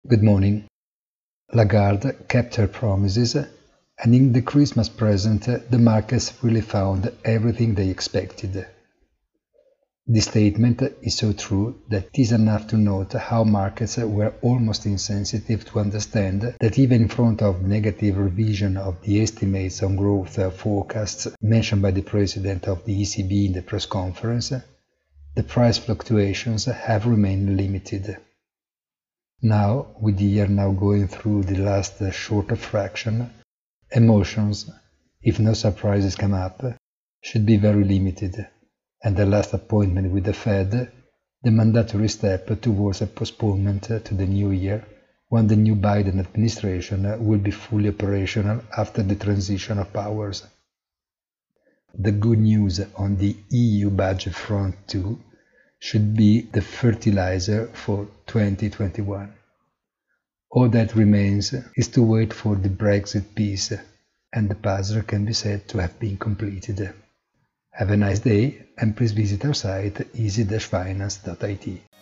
Good morning. Lagarde kept her promises, and in the Christmas present the markets really found everything they expected. This statement is so true that it is enough to note how markets were almost insensitive to understand that even in front of negative revision of the estimates on growth forecasts mentioned by the President of the ECB in the press conference, the price fluctuations have remained limited. Now, with the year now going through the last shorter fraction, emotions, if no surprises come up, should be very limited, and the last appointment with the Fed, the mandatory step towards a postponement to the new year, when the new Biden administration will be fully operational after the transition of powers. The good news on the EU budget front too should be the fertilizer for 2021. All that remains is to wait for the Brexit piece, and the puzzle can be said to have been completed. Have a nice day, and please visit our site easy-finance.it.